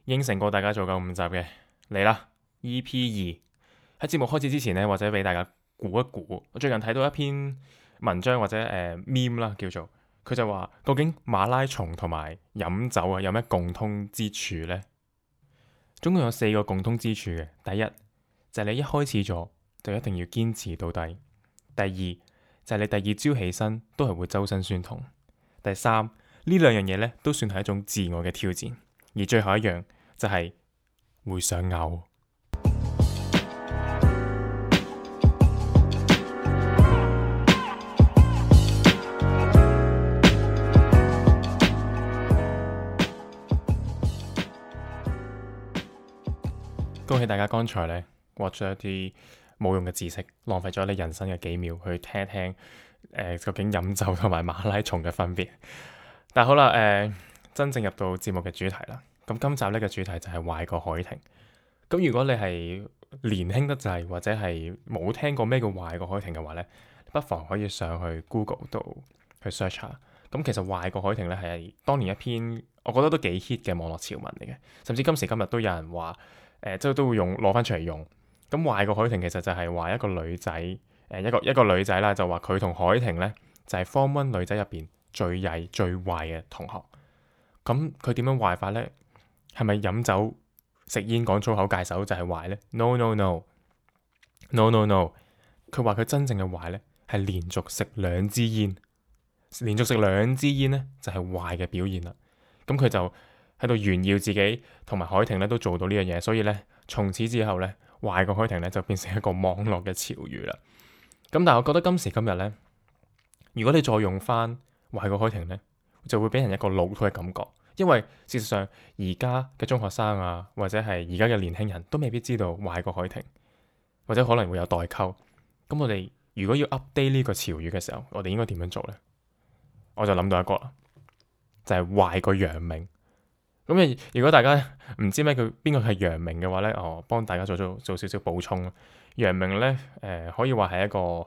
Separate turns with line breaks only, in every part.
應承過大家做夠5集嘅，嚟啦 EP2。喺節目開始之前呢，或者俾大家估一估，我最近睇到一篇文章或者meme 啦，叫做佢就話究竟馬拉松同埋飲酒啊有咩共通之處呢？總共有4個共通之處嘅。第一就係你一開始咗就一定要堅持到底。第二就係你第二朝起身都係會周身酸痛。第三呢兩樣嘢咧都算係一種自我嘅挑戰。而最後一樣就係會想嘔。恭喜大家剛才咧獲咗一啲冇用嘅知識，浪費咗你人生嘅幾秒去聽一聽究竟飲酒同埋馬拉松嘅分別。但好啦，真正入到節目嘅主題啦。咁今集呢個主題就係壞過海婷。咁如果你係年輕得滯，或者係冇聽過咩叫壞過海婷嘅話咧，不妨可以上去 Google 度去 search 下。咁其實壞過海婷咧係當年一篇我覺得都幾 hit 嘅網絡潮文嚟嘅，甚至今時今日都有人話即係都會攞翻出嚟用。咁壞過海婷其實就係話一個女仔一個女仔啦，就話佢同海婷咧就係 Form 1女仔入邊最曳最壞嘅同學。咁佢點樣壞法呢？係咪飲酒食煙講粗口戒手就係壞呢？ No no no no no no。佢話佢真正嘅壞呢係連續食2支煙，連續食2支煙呢就係壞嘅表現啦。咁佢就喺度炫耀自己同埋海婷咧都做到呢樣嘢，所以呢，從此之後呢，壞過海婷呢就變成一個網絡嘅潮語啦。咁但係我覺得今時今日呢，如果你再用翻壞過海婷呢，就會俾人一個老土嘅感覺，因為事實上而家嘅中學生啊，或者係而家嘅年輕人都未必知道壞過海婷，或者可能會有代溝。咁我哋如果要 update 呢個潮語嘅時候，我哋應該點樣做呢？我就諗到一個啦，就係壞過楊明。咁如果大家唔知咩佢邊個係楊明嘅話呢，我幫大家做少少補充。楊明呢，可以話係一個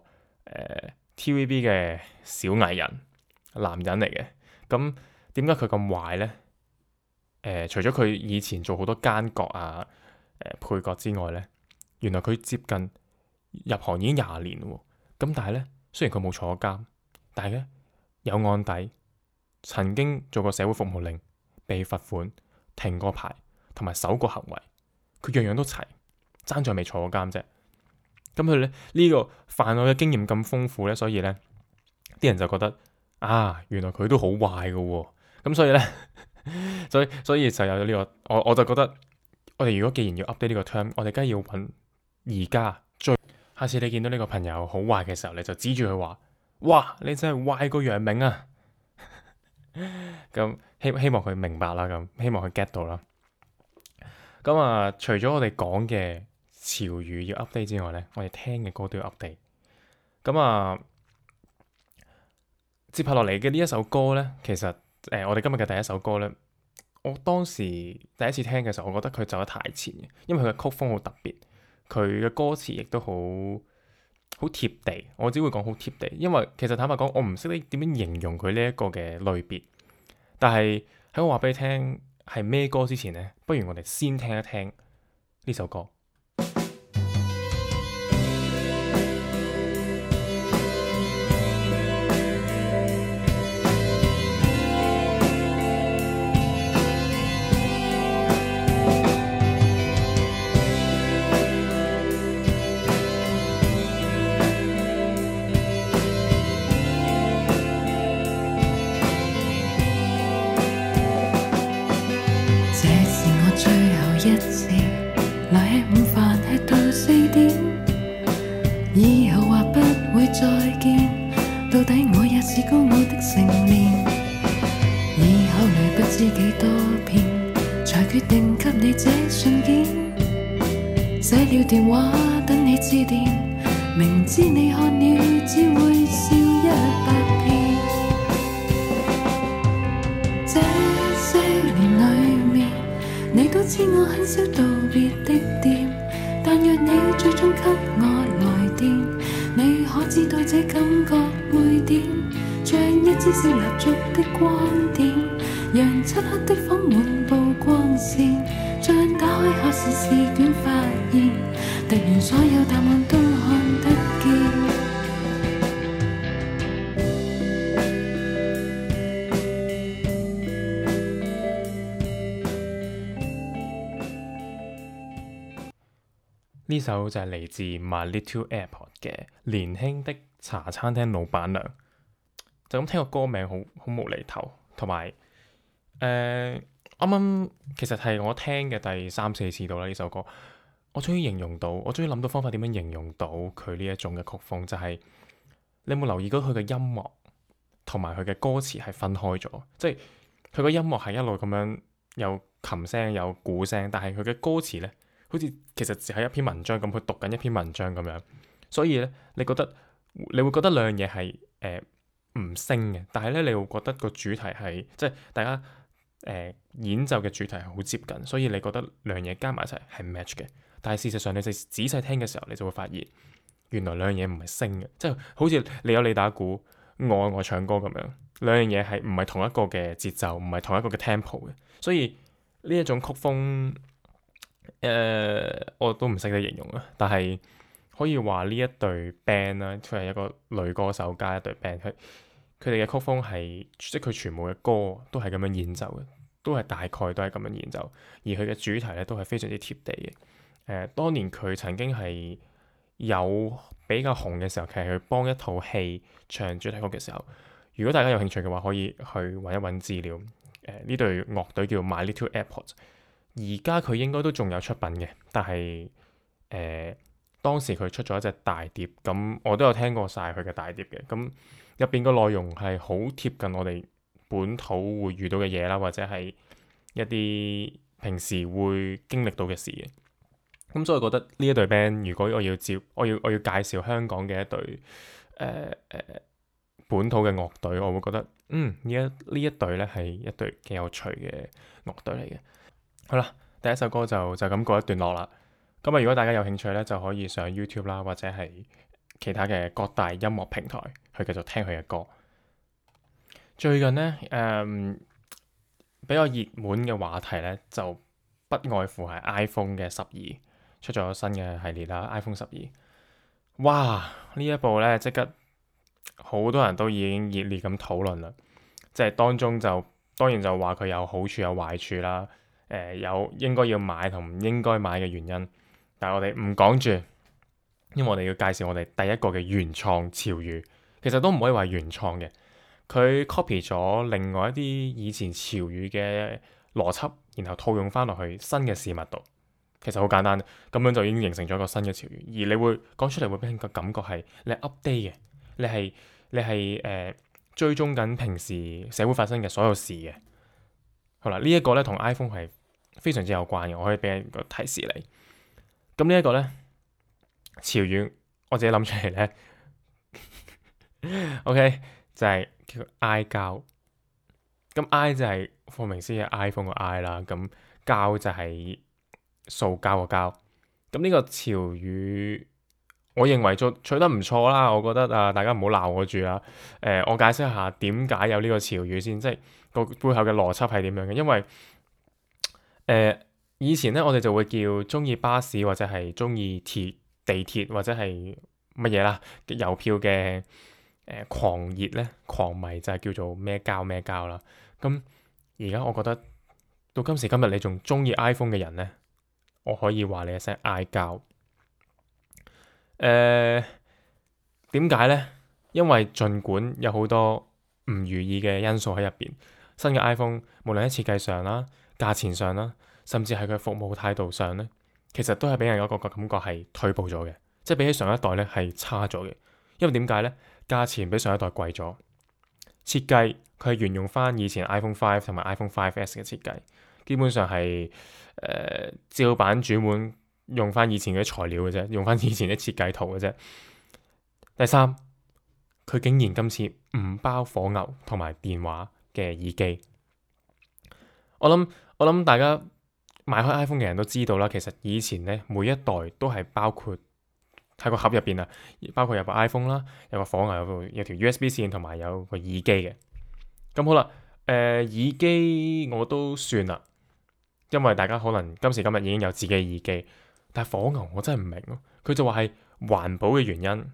TVB 嘅小藝人，男人嚟嘅。咁點解佢咁壞呢？除咗佢以前做好多奸角啊、配角之外呢，原來佢接近入行已經20年喎。咁但係呢，雖然佢冇坐監，但係咧有案底，曾經做過社會服務令，被罰款、停過牌同埋守過行為，佢樣樣都齊，爭在未坐過監啫。咁佢咧呢個犯案嘅經驗咁豐富呢，所以呢啲人就覺得啊，原來佢都好壞㗎喎。咁所以呢，所以就有咗呢個，我就覺得我哋如果既然要 update 呢個 term，我哋梗係要揾而家最。下次你見到呢個朋友好壞嘅時候，你就指住佢話：哇，你真係壞過楊明啊！咁希望佢明白啦，咁希望佢 get 到啦。咁啊，除咗我哋講嘅潮語要 update 之外呢，我哋聽嘅歌都要 update。咁啊，接下落嚟嘅呢一首歌呢，其實我哋今日嘅第一首歌呢，我當時第一次聽嘅時候，我覺得佢走得太前嘅，因為佢嘅曲風好特別，佢嘅歌詞亦都好貼地。我只會講好貼地，因為其實坦白講，我唔識得點樣形容佢呢一個嘅類別。但係喺我話俾你聽係咩歌之前呢，不如我哋先聽一聽呢首歌。
電話等你致電，明知你看了只會笑100遍。這些年裡面，你都知我很少道別的店，但若你最終給我來電，你可知道這感覺會點？像一支小蠟燭的光點，讓漆黑的房滿布光線。 時試卷發現，突然所有答案都看得見。
呢首就係嚟自 My Little Airport 嘅年輕的茶餐廳老闆娘。就咁聽個歌名好無厘頭，同埋啱啱其實係我聽嘅第3、4次到啦呢首歌，我終於形容到，我終於諗到方法點樣形容到佢呢一種嘅曲風，就係你有冇留意到佢嘅音樂同埋佢嘅歌詞係分開咗，即係佢個音樂係一路咁樣有琴聲有鼓聲，但係佢嘅歌詞呢，好似其實只係一篇文章咁，佢讀緊一篇文章咁樣，所以咧，你會覺得兩樣嘢係唔升嘅，但係咧，你會覺得個主題係即係大家演奏嘅主題係好接近，所以你覺得兩樣嘢加埋一齊係 match 嘅。但係事實上，你仔細聽嘅時候，你就會發現原來兩樣嘢唔係升嘅，即係好似你有你打鼓，我唱歌咁樣，兩樣嘢係唔係同一個嘅節奏，唔係同一個嘅 tempo 嘅，所以呢一種曲風。我都唔識得形容啊，但係可以話呢一隊 band 啦，佢係一個女歌手加一隊 band，佢哋嘅曲風係即係佢全部嘅歌都係咁樣演奏嘅，都係大概都係咁樣演奏，而佢嘅主題咧都係非常之貼地嘅。當年佢曾經係有比較紅嘅時候，其實佢幫一套戲唱主題曲嘅時候，如果大家有興趣嘅話，可以去揾一揾資料。呢隊樂隊叫 My Little Airport。而家佢應該都仲有出品嘅，但係當時佢出咗一隻大碟，咁我都有聽過晒佢嘅大碟嘅，咁入邊個內容係好貼近我哋本土會遇到嘅嘢啦，或者係一啲平時會經歷到嘅事嘅。咁所以我覺得呢一隊 band，如果我要介紹香港嘅一隊本土嘅樂隊，我會覺得呢一隊咧係一隊幾有趣嘅樂隊嚟嘅。好啦，第一首歌就咁過一段落啦。咁如果大家有興趣咧，就可以上 YouTube 啦，或者係其他嘅各大音樂平台去繼續聽佢嘅歌。最近咧，比較熱門嘅話題咧，就不外乎係 iPhone 嘅12出咗新嘅系列啦。iPhone 12，哇！呢一部咧即刻好多人都已經熱烈咁討論啦。即係當中當然就話佢有好處有壞處啦。有應該要買同唔應該買嘅原因，但係我哋唔講住，因為我哋要介紹我哋第一個嘅原創潮語，其實都唔可以話原創嘅，佢 copy 咗另外一啲以前潮語嘅邏輯，然後套用翻落去新嘅事物度，其實好簡單，咁樣就已經形成咗一個新嘅潮語，而你會講出嚟會俾人個感覺係你 update 嘅，你係追蹤緊平時社會發生嘅所有事嘅。好啦，呢一個咧同 iPhone 係非常之有關嘅，我可以俾一個提示你。咁呢一個咧潮語，我自己諗出嚟咧，OK 就係叫 I 膠。咁 I 就係顧名思義 iPhone 個 I 啦，咁膠就係塑膠個膠。咁呢個潮語，我認為取得唔錯啦。我覺得大家唔好鬧我住啦。我解釋一下點解有呢個潮語先，即係個背後嘅邏輯係點樣嘅。因為以前咧，我哋就會叫中意巴士或者係中意地鐵或者係乜嘢啦，郵票嘅狂熱咧、狂迷就係叫做咩膠啦。咁而家我覺得到今時今日，你仲中意 iPhone 嘅人咧，我可以話你一聲 I 膠。點解咧？因為儘管有好多唔如意嘅因素喺入邊，新嘅 iPhone 無論喺設計上啦、價錢上啦，甚至係佢服務態度上咧，其實都係俾人有一個感覺係退步咗嘅，即係比起上一代咧係差咗嘅。因為點解咧？價錢比上一代貴咗，設計佢係沿用翻以前 iPhone 5同埋 iPhone 5S 嘅設計，基本上係照版煮碗，用翻以前嘅材料嘅啫，用翻以前啲設計圖嘅啫。第三，佢竟然今次唔包火牛同埋電話嘅耳機。我諗大家買開 iPhone 嘅人都知道啦，其實以前咧每一代都係包括喺個盒入邊啊，包括有部 iPhone 啦，有個火牛，有條 USB 線同埋有個耳機嘅。咁好啦，耳機我都算啦， 因為大家可能今時今日已經有自己嘅耳機，但係火牛我真係唔明咯。佢就話係環保嘅原因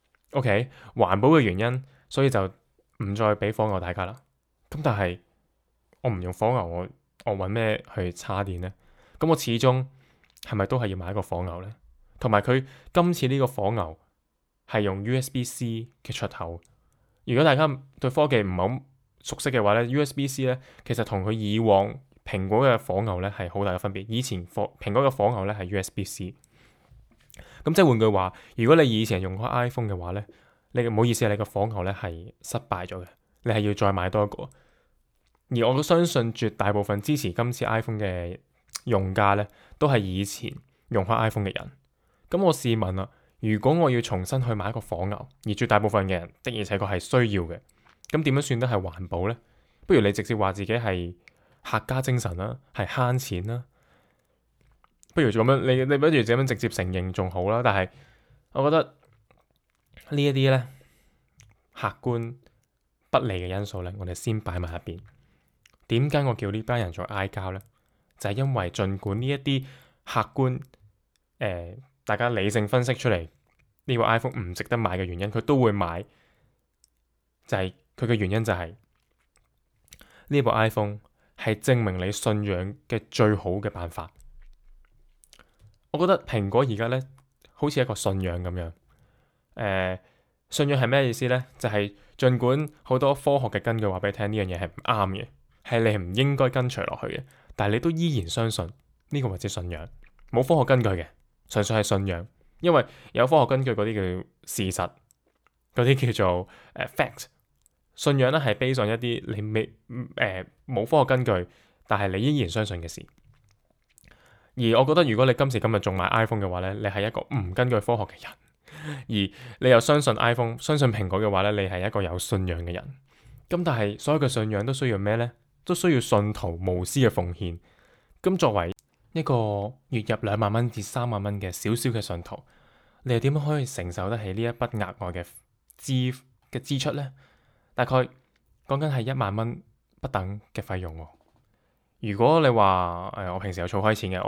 ，OK， 環保嘅原因，所以就唔再俾火牛大家啦。咁但係我唔用火牛，我揾咩去叉電呢？咁我始終係咪都係要買一個火牛呢？同埋佢今次呢個火牛係用 USB-C 嘅出口。如果大家對科技唔係好熟悉嘅話咧，USB-C 咧其實同佢以往蘋果嘅火牛咧係好大嘅分別。以前蘋果嘅火牛咧係 USB-C。咁即係換句話，如果你以前用開 iPhone 嘅話咧，你唔好意思，你個火牛咧係失敗咗嘅，你係要再買多一個。而我都相信絕大部分支持今次 iPhone 嘅用家咧，都係以前用開 iPhone 嘅人。咁我試問啦，如果我要重新去買一個火牛，而絕大部分嘅人的而且確係需要嘅，咁點樣算得係環保呢？不如你直接話自己係客家精神啦，係慳錢啦。不如咁樣，你不如咁樣直接承認仲好啦。但係我覺得呢一啲咧客觀不利嘅因素咧，我哋先擺埋一邊。點解我叫呢班人做嗌交呢？就係因為儘管呢一啲客觀大家理性分析出嚟呢個 iPhone 唔值得買嘅原因，佢都會買。就係佢嘅原因就係呢部 iPhone 係證明你信仰嘅最好嘅辦法。我覺得蘋果而家咧好似一個信仰咁樣。信仰係咩意思呢？就係儘管好多科學嘅根據話俾你聽呢樣嘢係唔啱嘅，係你唔應該跟隨落去嘅，但係你都依然相信呢個或者信仰，冇科學根據嘅，純粹係信仰。因為有科學根據嗰啲叫事實，嗰啲叫做fact。信仰咧係 based on 一啲你未冇科學根據，但係你依然相信嘅事。而我覺得如果你今時今日仲買 iPhone 嘅話咧，你係一個唔根據科學嘅人。而你又相信 iPhone、相信蘋果嘅話咧，你係一個有信仰嘅人。咁但係所有嘅信仰都需要咩呢？都需要信徒無私嘅奉獻。咁作為一個月入2萬蚊至3萬蚊嘅小小嘅信徒，你又點樣可以承受得起呢一筆額外嘅支出呢？大概講緊係1萬蚊不等嘅費用喎。如果你話我平時有儲開錢嘅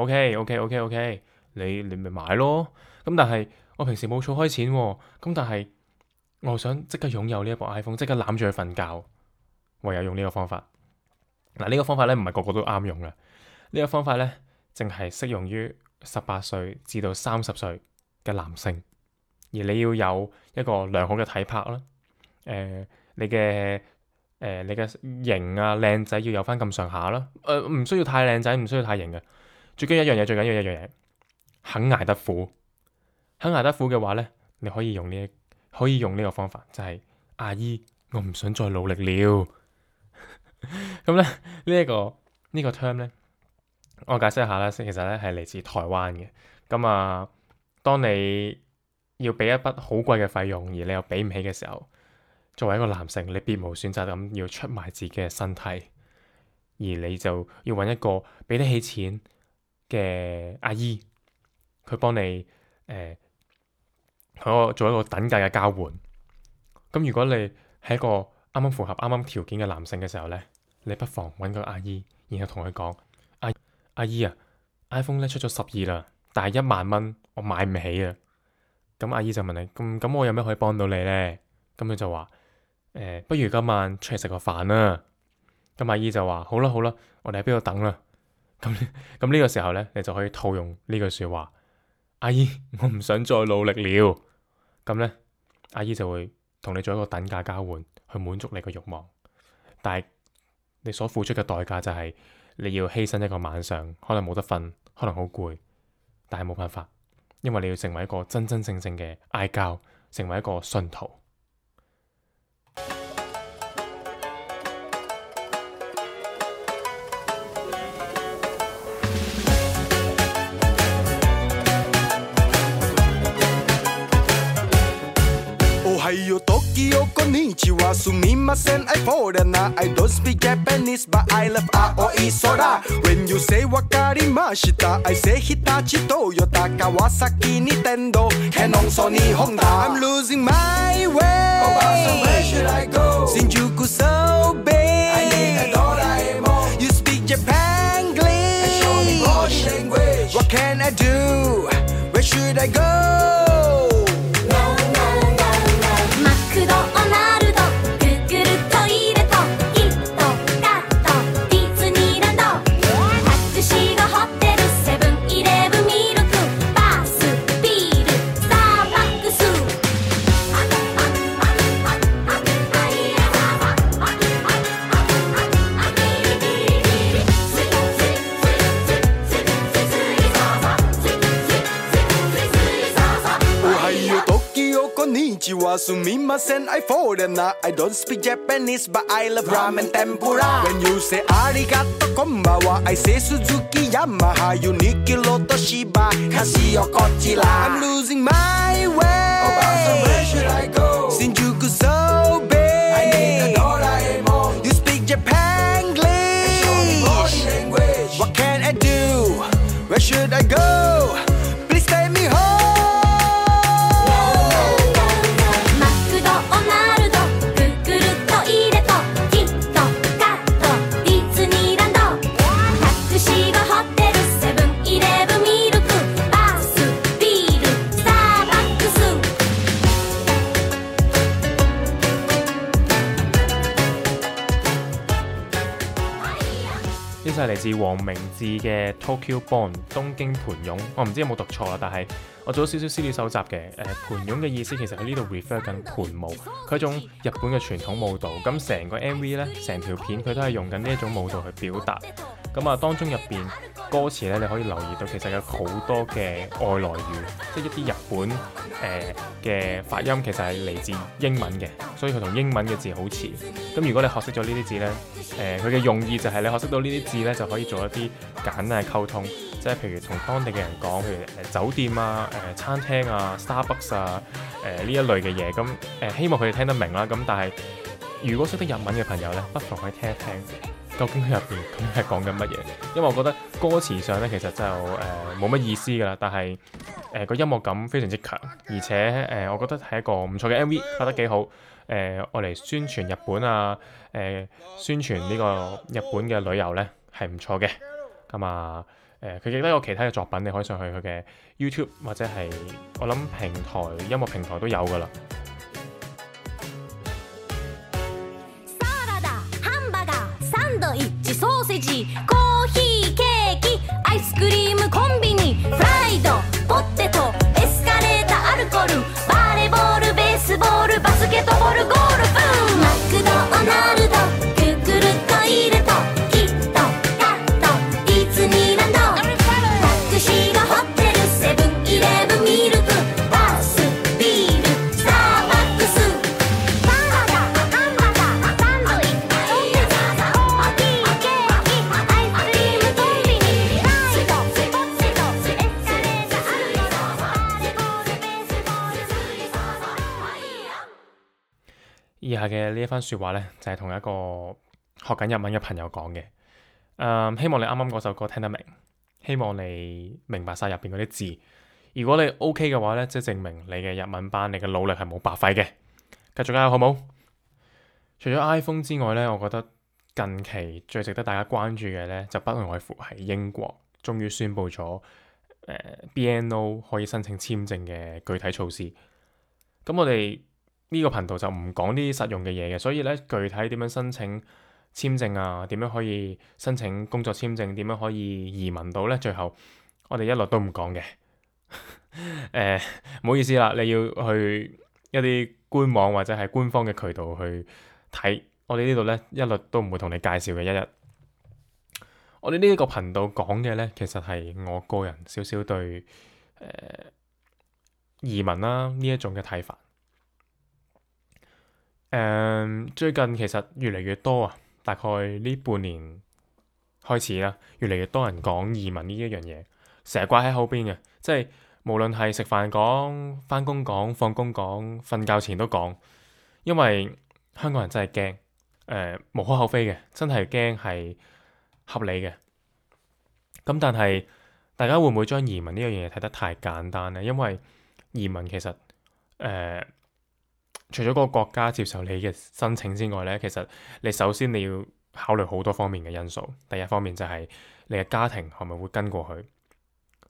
，OK， 你咪買咯。咁但係我平時冇儲開錢喎，咁但係我想即刻擁有呢一部 iPhone， 即刻攬住佢瞓覺，唯有用呢個方法。嗱，呢個方法咧唔係個個都啱用嘅。呢個方法咧淨係適用於18歲至到30歲嘅男性，而你要有一個良好嘅體魄啦。你嘅型啊靚仔要有翻咁上下啦。唔需要太靚仔，唔需要太型嘅。最緊要一樣嘢，肯捱得苦。肯捱得苦嘅話咧，你可以用呢個方法，就係阿姨，我唔想再努力了。咁咧呢個 term 咧，我解釋一下啦。其實咧係嚟自台灣嘅。咁啊，當你要俾一筆好貴嘅費用，而你又俾唔起嘅時候，作為一個男性，你別無選擇咁要出賣自己嘅身體，而你就要揾一個俾得起錢嘅阿姨，佢幫你做一個等價嘅交換。咁如果你係一個啱啱符合啱啱條件嘅男性嘅時候咧，你不妨揾個阿姨，然後同佢講：阿姨啊 ，iPhone 咧出咗12啦，但係1萬蚊我買唔起啊。咁阿姨就問你：咁我有咩可以幫到你咧？咁佢就話：不如今晚出嚟食個飯啦。咁阿姨就話：好啦，我哋喺邊度等啦。咁呢個時候咧，你就可以套用呢句説話：阿姨，我唔想再努力了。咁咧，阿姨就會同你做一個等價交換，去滿足你個慾望。但係你所付出嘅代價就係你要犧牲一個晚上，可能冇得瞓，可能好攰，但係冇辦法，因為你要成為一個真真正正嘅嗌交，成為一個信徒。
Ohio, Tokyo, konnichiwa, sumimasen, I foreigner. I don't speak Japanese, but I love Aoi Sora. When you say wakarimashita, I say Hitachi, Toyota, Kawasaki, Nintendo, Canon, Sony, Honda. I'm losing my way. Oh, so where should I go? Shinjuku so big. I need a Doraemon. You speak Japanglish. And show me What can I do? Where should I go?
マクドナルドグーグルトイレとキットカットディズニーランドタクシーがホテルセブンイレブンミルクバスビールスターバックス
こんにちはすみません I foreigner I don't speak Japanese but I love ramen tempura When you say ありがとうこんばんは I say 鈴木ヤマハユニキロとシバカシオこちら I'm losing my way おばあさん Where should I go 新宿 so big I need a ドラえもん You speak Japanglish What can I do Where should I go Please take me home
呢就係嚟自黃明志嘅 Tokyo Born 東京盤湧，我唔知有冇讀錯啦，但係我做咗少少資料搜集嘅。盤湧嘅意思其實喺呢度 refer 緊盤舞，佢係一種日本嘅傳統舞蹈。咁成個 MV 呢，成條片佢都係用緊呢一種舞蹈去表達。咁啊，當中入邊歌詞呢，你可以留意到其實有好多嘅外來語，即係一啲日本嘅發音其實係嚟自英文嘅，所以佢同英文嘅字好似。咁如果你學識咗呢啲字呢，佢嘅用意就係你學識到呢啲字呢，就可以做一啲簡單嘅溝通，即係譬如同當地嘅人講，譬如酒店啊、餐廳啊、Starbucks 啊呢一類嘅嘢。咁希望佢哋聽得明啦。咁但係如果識得日文嘅朋友呢，不妨可以聽一聽。究竟佢入邊究竟係講緊乜嘢？因為我覺得歌詞上咧其實就冇乜意思㗎啦，但係個音樂感非常之強，而且我覺得係一個唔錯嘅 MV， 拍得幾好。我嚟宣傳日本啊，宣傳呢個日本嘅旅遊咧係唔錯嘅。咁啊佢亦都有其他嘅作品，你可以上去佢嘅 YouTube 或者係我諗音樂平台都有㗎啦。
ソーセージ、コーヒー、ケーキ、アイスクリーム、コンビニ、フライド、ポテト、エスカレーター、アルコール、バレーボール、ベースボール、バスケットボール、ゴルフ、マクドナルド、グーグルトイレとキットカットディズニーランドタクシーがホテルセブンイレブンミルクバスビールスターバックスサラダハンバーガーサンドイッチ
以下嘅呢一番説話呢，就係同一個學緊日文嘅朋友講嘅。希望你啱啱嗰首歌聽得明，希望你明白晒入邊嗰啲字。如果你 OK 嘅話呢，即係證明你嘅日文班，你嘅努力係冇白費嘅。繼續加油，好冇？除咗 iPhone 之外呢，我覺得近期最值得大家關注嘅呢，就不外乎係英國終於宣布咗BNO 可以申請簽證嘅具體措施。咁我哋呢個頻道就唔講啲實用嘅嘢嘅，所以咧具體點樣申請簽證啊，點樣可以申請工作簽證，點樣可以移民到呢？最後我哋一律都唔講嘅。唔好意思啦，你要去一啲官網或者係官方嘅渠道去睇，我哋呢度呢，一律都唔會同你介紹嘅。一日我哋呢一個頻道講嘅呢，其實係我個人少少對移民啦呢一種嘅睇法。最近其實越嚟越多啊，大概呢半年開始啦，越嚟越多人講移民呢一樣嘢，成日掛喺口邊嘅，即係無論係食飯講、返工講、放工講、瞓覺前都講，因為香港人真係驚，無可厚非嘅，真係驚係合理嘅。咁但係大家會唔會將移民呢樣嘢睇得太簡單呢？因為移民其實除咗個國家接受你嘅申請之外呢，其實你首先你要考慮好多方面嘅因素。第一方面就係你嘅家庭係咪會跟過去，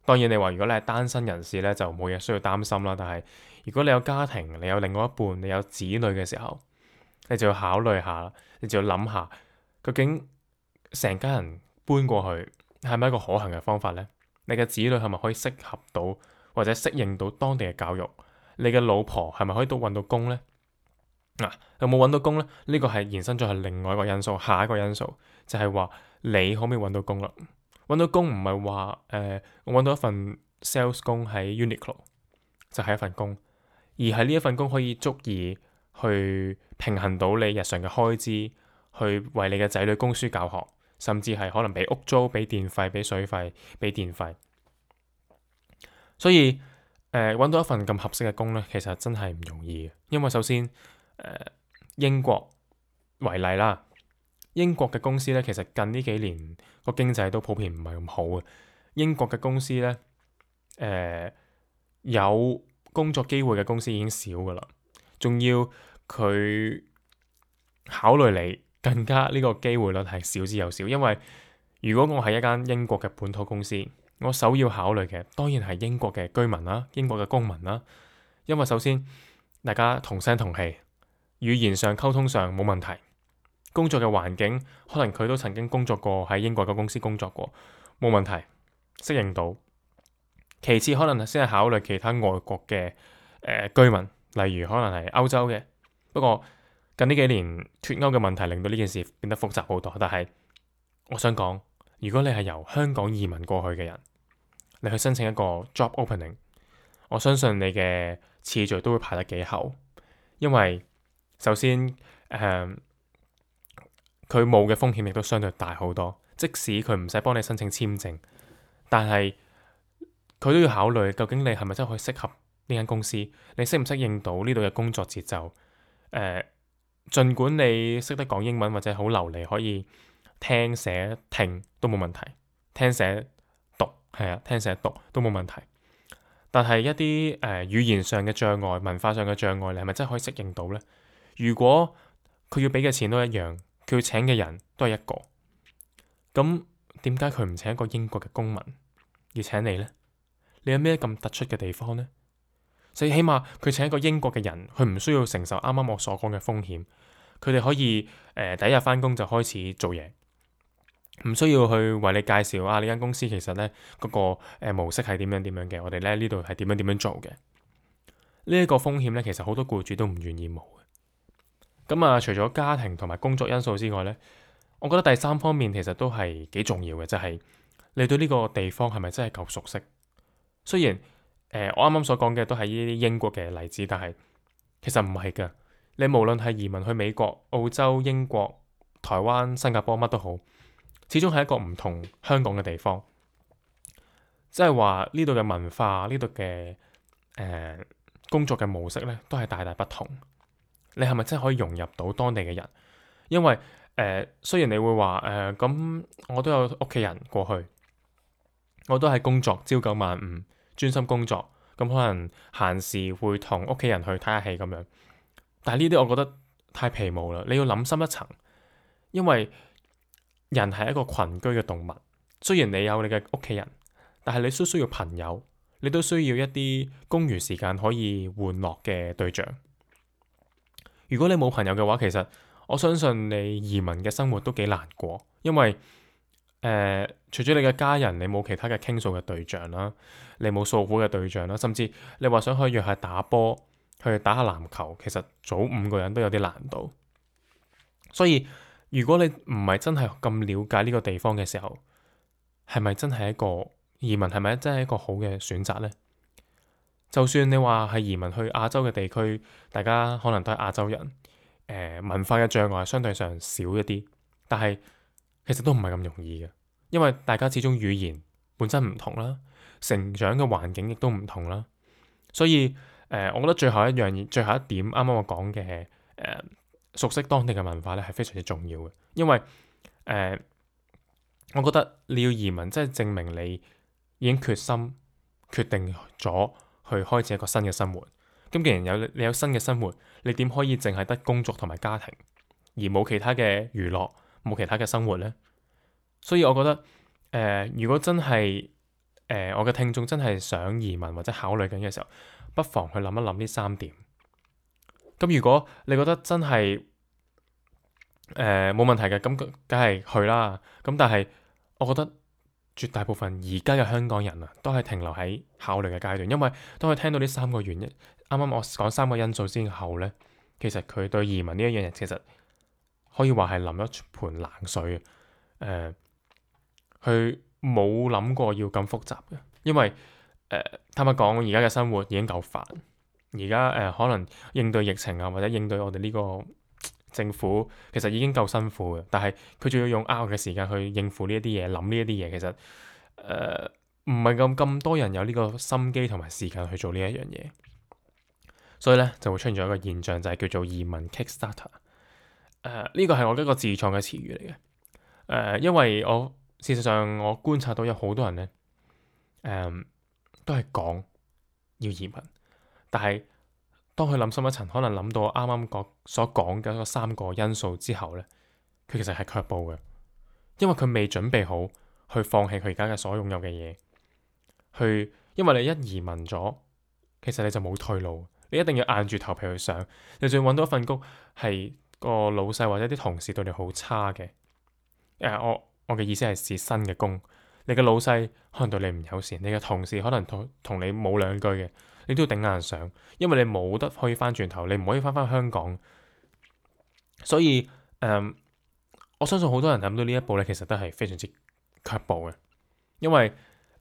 當然你話如果你係單身人士咧，就冇嘢需要擔心啦。但係如果你有家庭，你有另外一半，你有子女嘅時候，你就要考慮下，你就要諗下，究竟成家人搬過去係咪一個可行嘅方法呢？你嘅子女係咪可以適合到或者適應到當地嘅教育？你嘅老婆係咪可以都揾到工呢？有冇揾到工呢？呢個係延伸咗係另外一個因素，下一個因素就係話你可唔可以揾到工啦？揾到工唔係話我揾到一份 sales 工喺 Uniqlo 就係一份工，而係呢一份工可以足以去平衡到你日常嘅開支，去為你嘅仔女供書教學，甚至係可能俾屋租、俾電費、俾水費、俾電費。所以揾到一份咁合適嘅工呢，其實真係唔容易嘅，因為首先英國為例啦，英國嘅公司呢，其實近呢幾年個經濟都普遍唔係咁好嘅。英國嘅公司呢，有工作機會嘅公司已經少噶啦，仲要佢考慮你更加呢個機會率係少之又少。因為如果我係一間英國嘅本土公司，我首要考慮嘅當然係英國嘅居民啦，英國嘅公民啦。因為首先大家同聲同氣，語言上溝通上冇問題，工作嘅環境可能佢都曾經工作過喺英國嘅公司工作過，冇問題，適應到。其次可能先係考慮其他外國嘅居民，例如可能係歐洲嘅。不過近呢幾年脱歐嘅問題令到呢件事變得複雜好多。但係我想講，如果你係由香港移民過去嘅人，你去申請一個 job opening， 我相信你嘅次序都會排得幾後，因為首先佢冒嘅風險亦都相對大好多。即使佢唔使幫你申請簽證，但係佢都要考慮究竟你係咪真係可以適合呢間公司，你適唔適應到呢度嘅工作節奏。儘管你識得講英文或者好流利，可以聽寫聽都冇問題，聽寫讀都冇問題。但係一啲語言上嘅障礙、文化上嘅障礙，你係咪真係可以適應到呢？如果佢要俾嘅錢都一樣，佢要請嘅人都係一個，咁點解佢唔請一個英國嘅公民，要請你呢？你有咩咁突出嘅地方呢？所以起碼佢請一個英國嘅人，佢唔需要承受啱啱我所講嘅風險，佢哋可以第一日返工就開始做嘢，唔需要去為你介紹呢間公司其實呢嗰個模式係點樣嘅，我哋呢度係點樣做嘅。呢一個風險呢，其實好多僱主都唔願意冒嘅。咁除咗家庭同埋工作因素之外呢，我覺得第三方面其實都係幾重要嘅，就係你對呢個地方係咪真係夠熟悉？雖然我啱啱所講嘅都係呢啲英國嘅例子，但係其實唔係㗎。你無論係移民去美國、澳洲、英國、台灣、新加坡乜都好，始終係一個唔同香港嘅地方。即係話呢度嘅文化、呢度嘅工作嘅模式咧，都係大大不同。你係咪真係可以融入到當地嘅人？因為雖然你會話咁，我都有屋企人過去，我都係工作朝九晚五，專心工作。咁可能閒時會同屋企人去睇下戲咁樣。但係呢啲我覺得太皮毛啦。你要諗深一層，因為人係一個群居嘅動物。雖然你有你嘅屋企人，但係你需要朋友，你都需要一啲公餘時間可以玩樂嘅對象。如果你冇朋友嘅話，其實我相信你移民嘅生活都幾難過，因為除咗你嘅家人，你冇其他嘅傾訴嘅對象啦，你冇訴苦嘅對象啦，甚至你話想去約下打波，去打下籃球，其實組5個人都有啲難度。所以如果你唔係真係咁了解呢個地方嘅時候，係咪真係一個移民，係咪真係一個好嘅選擇呢？就算你話係移民去亞洲嘅地區，大家可能都係亞洲人，文化嘅障礙相對上少一啲，但係其實都唔係咁容易嘅，因為大家始終語言本身唔同啦，成長嘅環境亦都唔同啦。所以我覺得最後一點，啱啱我講嘅熟悉當地嘅文化咧，係非常之重要嘅。因為我覺得你要移民，即係證明你已經決定咗去開始一個新嘅生活。咁既然你有新嘅生活，你點可以淨係得工作同埋家庭，而冇其他嘅娛樂，冇其他嘅生活呢？所以我覺得如果真係我嘅聽眾真係想移民或者考慮緊嘅時候，不妨去諗一諗呢3點。咁如果你覺得真係冇問題嘅，咁梗係去啦。咁但係我覺得絕大部分而家嘅香港人啊，都係停留喺考慮嘅階段，因為當佢聽到呢3個原因，啱啱我講3個因素之後呢，其實佢對移民呢一樣嘢其實可以話係淋一盆冷水。佢冇諗過要咁複雜嘅，因為坦白講，而家嘅生活已經夠煩。而家可能應對疫情啊，或者應對我哋呢個政府，其實已經夠辛苦嘅。但係佢仲要用嘅時間去應付呢一啲嘢，諗呢一啲嘢，其實唔係咁多人有呢個心機同埋時間去做呢一樣嘢。所以咧就會出現咗一個現象，就係叫做移民 Kickstarter。呢個係我一個自創嘅詞語嚟嘅。因為事實上我觀察到有好多人咧，都係講要移民，但係當佢諗深一層，可能諗到我啱啱所講嘅嗰3個因素之後咧，佢其實係卻步嘅，因為佢未準備好去放棄佢而家嘅所擁有嘅嘢，因為你一移民咗，其實你就冇退路，你一定要硬住頭皮去上，你仲要揾到一份工係個老細或者啲同事對你好差嘅。我嘅意思係試新嘅工，你嘅老細可能對你唔友善，你嘅同事可能同你冇兩句嘅，你都要頂硬上，因為你冇得可以翻轉頭，你唔可以翻香港。所以我相信好多人諗到呢一步咧，其實都係非常之卻步嘅，因為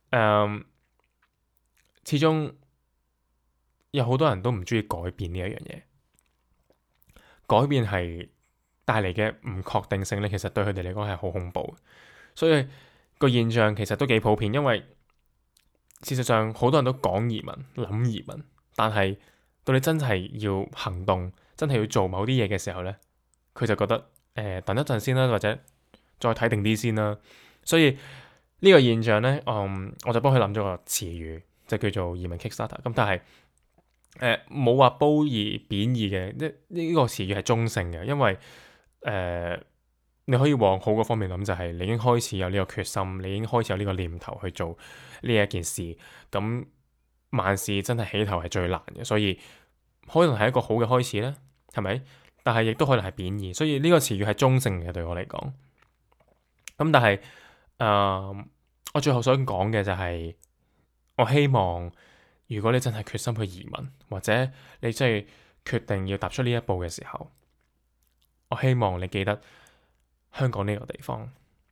始終有好多人都唔中意改變呢一樣嘢，改變係帶嚟嘅唔確定性咧，其實對佢哋嚟講係好恐怖。所以個現象其實都幾普遍，因為事實上好多人都講移民、諗移民，但係到你真係要行動、真係要做某啲嘢嘅時候咧，佢就覺得等一陣先啦，或者再睇定啲先啦。所以呢個現象咧，我就幫佢諗咗個詞語，就叫做移民 Kickstarter。咁但係冇話褒義貶義嘅，呢個詞語係中性嘅，因為你可以往好嘅方面諗，就係你已經開始有呢個決心，你已經開始有呢個念頭去做呢一件事。咁萬事真係起頭係最難嘅，所以可能係一個好嘅開始咧，係咪？但係亦都可能係貶義，所以呢個詞語係中性嘅對我嚟講。咁但係我最後想講嘅就係，我希望如果你真係決心去移民，或者你真係決定要踏出呢一步嘅時候，我希望你記得香港呢個地方，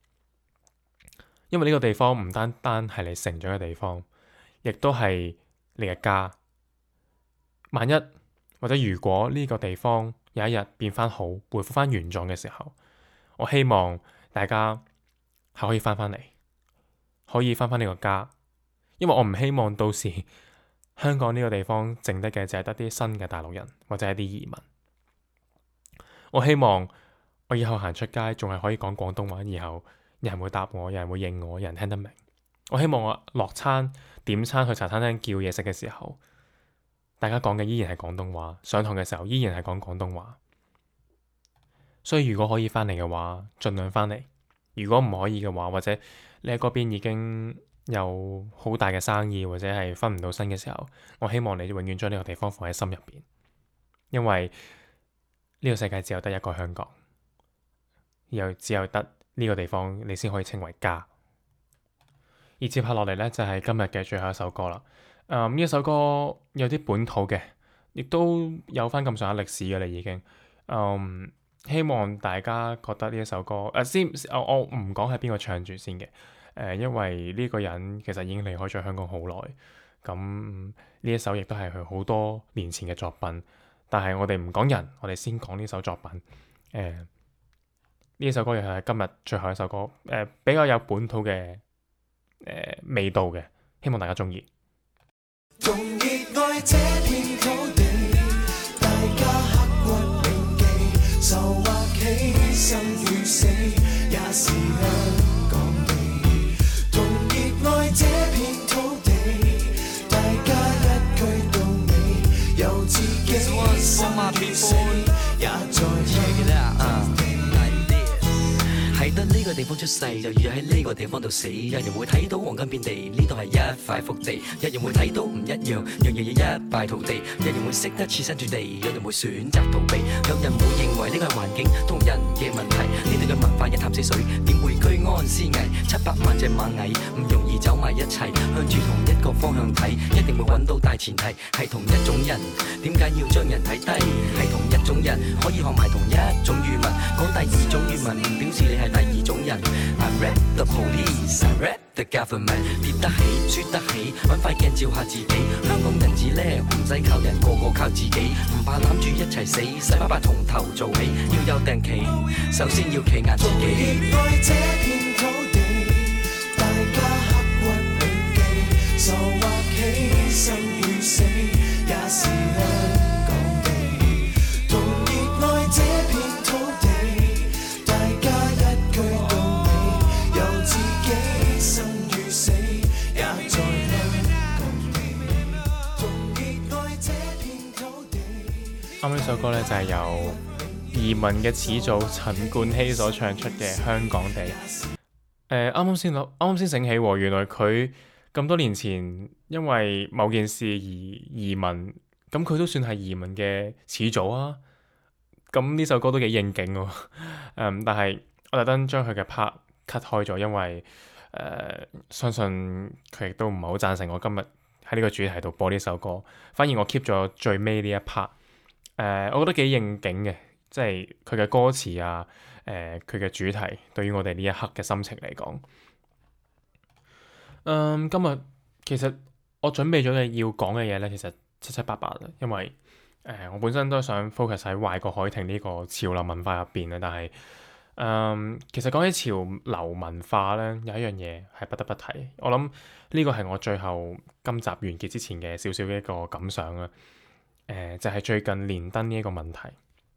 因為呢個地方唔單單係你成長嘅地方，亦都係你嘅家。萬一或者如果呢個地方有一日變翻好，恢復翻原狀嘅時候，我希望大家係可以翻嚟，可以翻呢個家。因為我唔希望到時香港呢個地方剩得嘅就係得啲新嘅大陸人或者係啲移民。我希望我以後行出街仲係可以講廣東話，以後有人會答我，有人會應我，有人聽得明。我希望我落餐點餐去茶餐廳叫嘢食嘅時候，大家講嘅依然係廣東話，上堂嘅時候依然係講廣東話。所以如果可以翻嚟嘅話，盡量翻嚟；如果唔可以嘅話，或者你喺嗰邊已經有好大嘅生意，或者係分唔到身嘅時候，我希望你永遠將呢個地方放喺心入邊，因為呢個世界只有得一個香港，又只有得呢個地方你先可以稱為家。而接下落嚟呢，就係今日嘅最後一首歌啦。呢一首歌有啲本土嘅，亦都有翻咁上下歷史嘅啦已經。希望大家覺得呢一首歌我唔講係邊個唱住先嘅。因為呢個人其實已經離開咗香港好耐，咁呢一首亦都係佢好多年前嘅作品。但係我哋唔講人，我哋先講呢首作品。呢一首歌又係今日最後一首歌，比較有本土嘅味道嘅，希望大家中意。
同熱愛這片土地，大家刻骨銘記，愁或喜，生與死，也是香港地。同熱愛這片土地，大家一句到尾，由自己生與死，也在香港地。係得呢個
個地方出世，就要喺呢個地方度死。有人會睇到黃金遍地，呢度係一塊福地；有人會睇到唔一樣，樣樣嘢一敗塗地。有人會識得設身處地，有人會選擇逃避，有人會認為呢個係環境同人嘅問題。呢度嘅文化一潭死水，點會居安思危？700萬隻螞蟻唔容易走埋一齊，向住同一個方向睇，一定會揾到大前提係同一種人。點解要將人睇低？係同一種人可以學埋同一種語文，講第二種語文唔表示你係第二種人。I rap the police, I rap the government。 跌得起，輸得起，揾塊鏡照下自己。香港人至叻，唔使靠人，個個靠自己。唔怕攬住一齊死，細巴巴從頭做起。要有定期，首先要企硬自己。
熱愛這片土地，大家刻骨銘記，傻或喜，生與死，也是香港地。同熱愛這片土地，大家一句道理，由自己生與死，也在香港地。同熱愛這片土地。
啱呢首歌呢，就係由移民嘅始祖陳冠希所唱出嘅《香港地》。啱啱先醒起喎，原來佢咁多年前因為某件事而移民，咁佢都算係移民嘅始祖啊。咁呢首歌都幾應景喎。但係我特登將佢嘅 part cut 開咗，因為相信佢亦都唔係好贊成我今日喺呢個主題度播呢首歌。反而我 keep 咗最尾呢一 part。我覺得幾應景嘅。即係佢嘅歌詞啊，佢嘅主題對於我哋呢一刻嘅心情嚟講，今日其實我準備咗嘅要講嘅嘢咧，其實七七八八啦，因為我本身都想 focus 喺壞過海婷呢個潮流文化入邊啊，但係其實講起潮流文化咧，有一樣嘢係不得不提，我諗呢個係我最後今集完結之前嘅少少嘅一個感想啦，就係最近連登呢一個問題。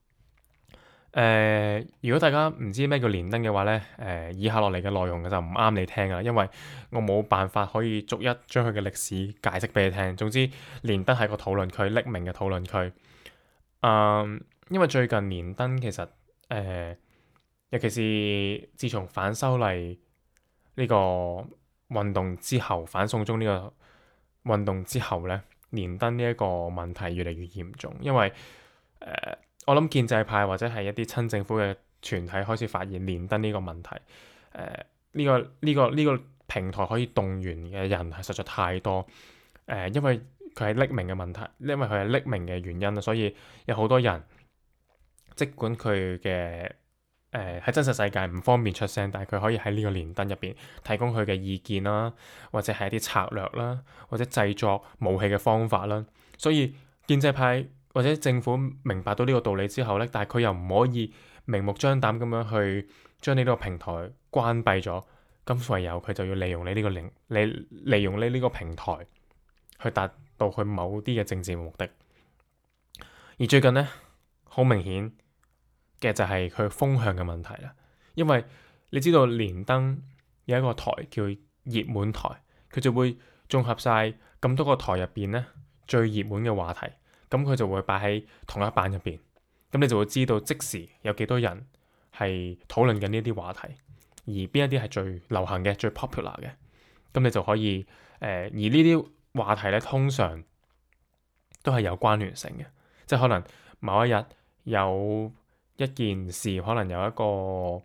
如果大家唔知咩叫連登嘅話咧，以下落嚟嘅內容就唔啱你聽啦，因為我冇辦法可以逐一將佢嘅歷史解釋俾你聽。總之，連登係個討論區，匿名嘅討論區。因為最近連登其實尤其是自從反修例呢個運動之後，反送中呢個運動之後咧，連登呢一個問題越嚟越嚴重，因為我諗建制派或者係一啲親政府嘅團體開始發現連登呢個問題，呢個平台可以動員嘅人係實在太多，因為佢係匿名嘅問題，因為佢係匿名嘅原因，所以有好多人，即管佢嘅喺真實世界唔方便出聲，但係佢可以喺呢個連登入邊提供佢嘅意見啦，或者係一啲策略啦，或者製作武器嘅方法啦，所以建制派或者政府明白到呢個道理之後咧，但係佢又唔可以明目張膽咁樣去將你呢個平台關閉咗，咁唯有佢就要利用你呢個利用你呢個平台去達到佢某啲嘅政治目的。而最近咧，好明顯嘅就係佢風向嘅問題啦，因為你知道連登有一個台叫熱門台，佢就會綜合晒咁多個台入邊咧最熱門嘅話題。咁佢就會擺喺同一版入邊，咁你就會知道即時有幾多人係討論緊呢啲話題，而邊一啲係最流行嘅、最 popular 嘅，咁你就可以而呢啲話題咧，通常都係有關聯性嘅，即係可能某一日有一件事，可能有一個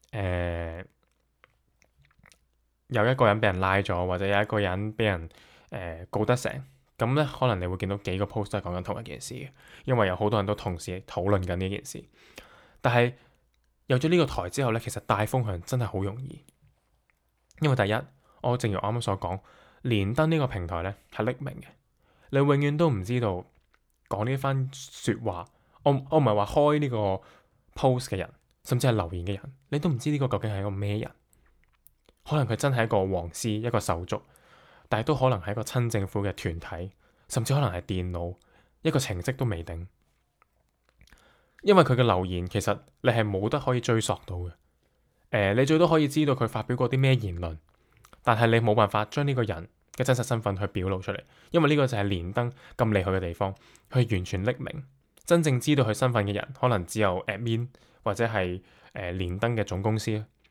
有一個人俾人拉咗，或者有一個人俾人告得成。咁咧，可能你會見到幾個 post 都係講緊同一件事嘅，因為有好多人都同時討論緊呢件事。但係有咗呢個台之後咧，其實帶風向真係好容易，因為第一，我正如我啱啱所講，連登呢個平台咧係匿名嘅，你永遠都唔知道講呢番説話。我唔係話開呢個 post 嘅人，甚至係留言嘅人，你都唔知呢個究竟係一個咩人。可能佢真係一個黃絲，一個手足。但係都可能係一個親政府嘅團體，甚至可能係電腦一個程式都未定，因為佢嘅留言其實你係冇得可以追溯到嘅。你最多可以知道佢發表過啲咩言論，但係你冇辦法將呢個人嘅真實身份去表露出嚟，因為呢個就係連登咁厲害嘅地方，佢完全匿名，真正知道佢身份嘅人可能只有 admin 或者係連登嘅總公司。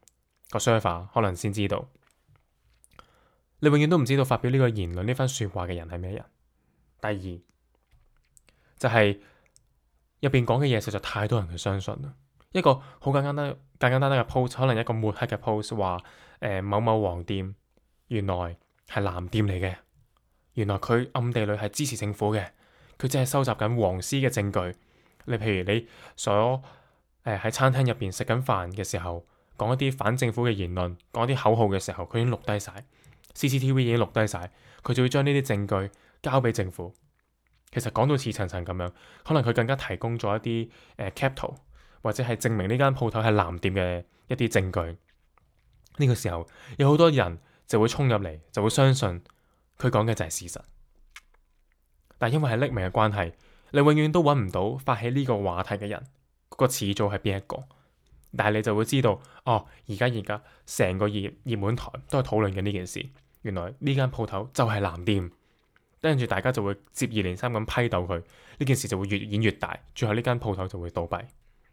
個 server 可能先知道。你永遠都唔知道發表呢個言論呢番説話嘅人係咩人。第二就係入邊講嘅嘢實在太多人去相信啦。一個好簡單嘅 post， 可能一個抹黑嘅 post 話某某黃店原來係藍店嚟嘅，原來佢暗地裏係支持政府嘅，佢只係收集緊黃絲嘅證據。你譬如你所喺餐廳入邊食緊飯嘅時候，講一啲反政府嘅言論，講一啲口號嘅時候，佢已經錄低晒 CCTV 已經錄低晒，佢就會將呢啲證據交俾政府。其實講到似層層咁樣，可能佢更加提供咗一啲cap 圖，或者係證明呢間鋪頭係藍店嘅一啲證據。呢個時候有好多人就會衝入嚟，就會相信佢講嘅就係事實。但因為係匿名嘅關係，你永遠都揾唔到發起呢個話題嘅人，個始祖係邊一個。但係你就會知道，哦，而家成個熱門台都係討論緊呢件事。原來呢間鋪頭就係藍店，跟住大家就會接二連三咁批鬥佢，呢件事就會越演越大，最後呢間鋪頭就會倒閉。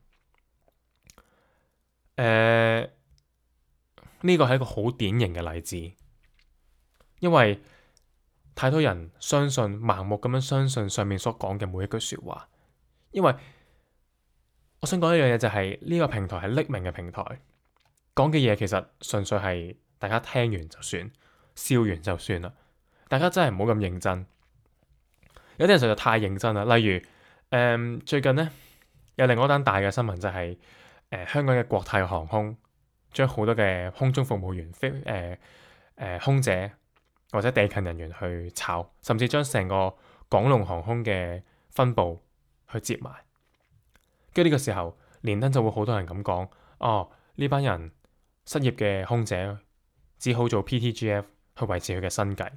呢個係一個好典型嘅例子，因為太多人盲目咁樣相信上面所講嘅每一句説話。因為我想講一樣嘢就係呢個平台係匿名嘅平台，講嘅嘢其實純粹係大家聽完就算，笑完就算啦。大家真係唔好咁認真。有啲人實在太認真啦。例如最近呢，有另外一單大嘅新聞就係香港嘅國泰航空將好多嘅空中服務員、空姐或者地勤人員去炒，甚至將成個港龍航空嘅分部去接埋。跟住呢個時候，連登就會好多人咁講：哦，呢班人失業嘅空姐只好做 PTGF 去維持佢嘅生計。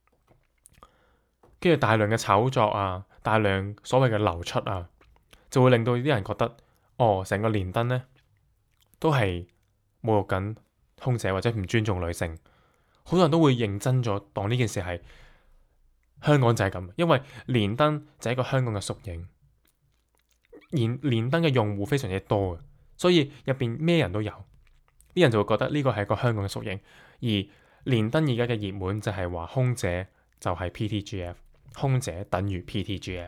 跟住大量嘅炒作啊，大量所謂嘅流出啊，就會令到啲人覺得，哦，成個連登呢都係侮辱緊空姐或者唔尊重女性。好多人都會認真咗，當呢件事係香港就係咁，因為連登就係一個香港嘅縮影。連登嘅用戶非常之多嘅，所以入邊咩人都有，啲人就會覺得呢個係一個香港嘅縮影。而連登而家嘅熱門就係話空姐就係 PTGF， 空姐等於 PTGF，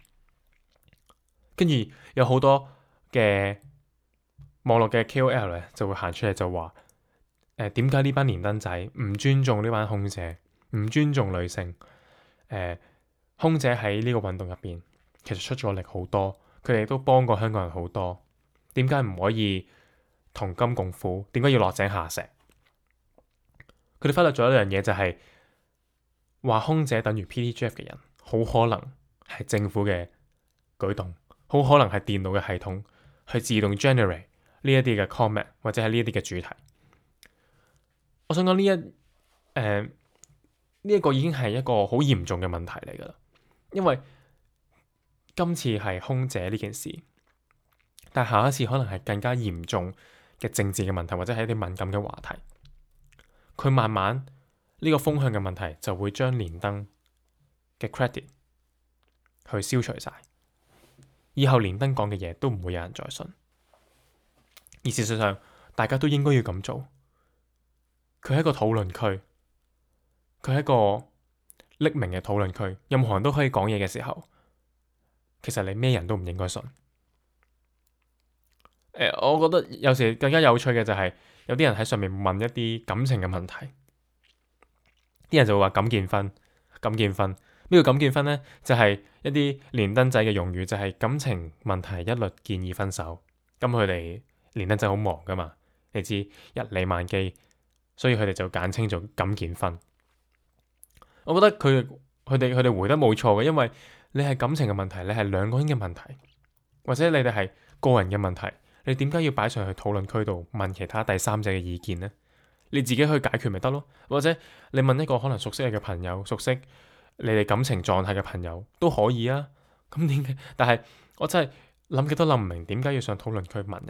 跟住有好多嘅網絡嘅 KOL 咧就會行出嚟就話點解呢班連登仔唔尊重呢班空姐，唔尊重女性？空姐喺呢個運動入邊其實出咗力好多。佢哋都幫過香港人好多，點解唔可以同甘共苦？點解要落井下石？佢哋忽略咗一樣嘢，就係話空姐等於 PTGF 嘅人，好可能係政府嘅舉動，好可能係電腦嘅系統去自動 generate 呢一啲嘅 comment 或者係呢一啲嘅主題。我想講呢一個已經係一個好嚴重嘅問題嚟㗎啦，因為今次係空姐呢件事，但下一次可能係更加嚴重嘅政治嘅問題，或者係一啲敏感嘅話題。佢慢慢呢個風向嘅問題就會將連登嘅 credit 去消除晒，以後連登講嘅嘢都唔會有人再信。而事實上，大家都應該要咁做。佢係一個討論區，佢係一個匿名嘅討論區，任何人都可以講嘢嘅時候。其實你咩人都唔應該信。我覺得有時更加有趣嘅就係有啲人喺上面問一啲感情嘅問題，啲人就會話敢見分。咩叫敢見分呢？就係一啲連登仔嘅用語，就係感情問題一律建議分手。咁佢哋連登仔好忙噶嘛，你知一理萬機，所以佢哋就簡稱做敢見分。我覺得佢哋回得冇錯嘅，因為你係感情嘅問題，你係兩個人嘅問題，或者你哋係個人嘅問題，你點解要擺上去討論區度問其他第三者嘅意見呢？你自己去解決咪得咯？或者你問一個可能熟悉你嘅朋友，熟悉你哋感情狀態嘅朋友都可以啊。咁點解？但係我真係諗極都諗唔明點解要上討論區問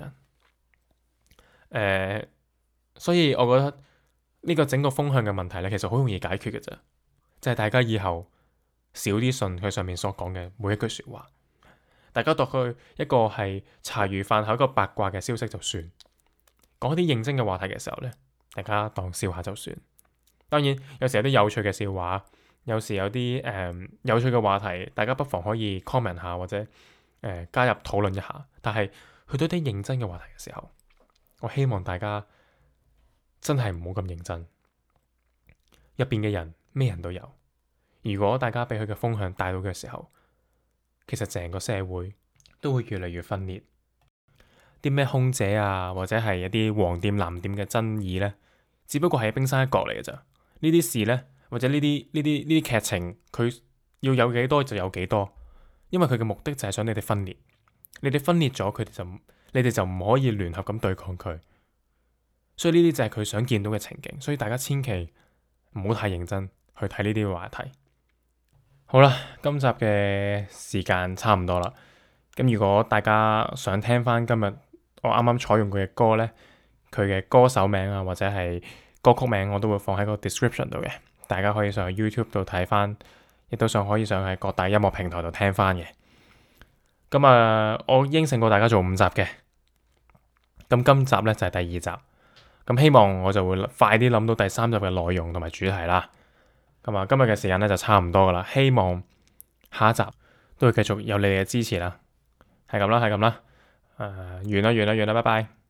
人。所以我覺得呢個整個風向嘅問題咧，其實好容易解決嘅啫，就係大家以後少啲信佢上面所講嘅每一句説話，大家當佢一個係茶餘飯後一個八卦嘅消息就算， 講一啲認真嘅話題嘅時候呢，大家當笑下就算。當然有時有啲有趣嘅笑話，有時有啲有趣嘅話題，大家不妨可以 comment 下或者加入討論一下。但係去到啲認真嘅話題嘅時候，我希望大家真係唔好咁認真。入邊嘅人咩人都有，如果大家俾佢嘅風向帶到嘅時候，其實成個社會都會越嚟越分裂。啲咩空姐啊，或者係一啲黃店藍店嘅爭議呢，只不過係冰山一角嚟嘅咋。呢啲事呢，或者呢啲劇情，佢要有幾多就有幾多，因為佢嘅目的就係想你哋分裂。你哋分裂咗，你哋就唔可以聯合咁對抗佢。所以呢啲就係佢想見到嘅情景。所以大家千祈唔好太認真去睇呢啲話題。好啦，今集嘅時間差唔多啦。咁如果大家想聽翻今日我啱啱採用佢嘅歌呢，佢嘅歌手名啊，或者係歌曲名，我都會放喺個 description 度嘅，大家可以上去 YouTube 度睇翻，亦都可以上喺各大音樂平台度聽翻嘅。咁我應承過大家做5集嘅，咁今集呢就係第2集，咁希望我就會快啲諗到第3集嘅內容同埋主題啦。咁今日嘅時間呢就差唔多噶啦，希望下一集都會繼續有你哋嘅支持啦。係咁啦，完啦，拜拜。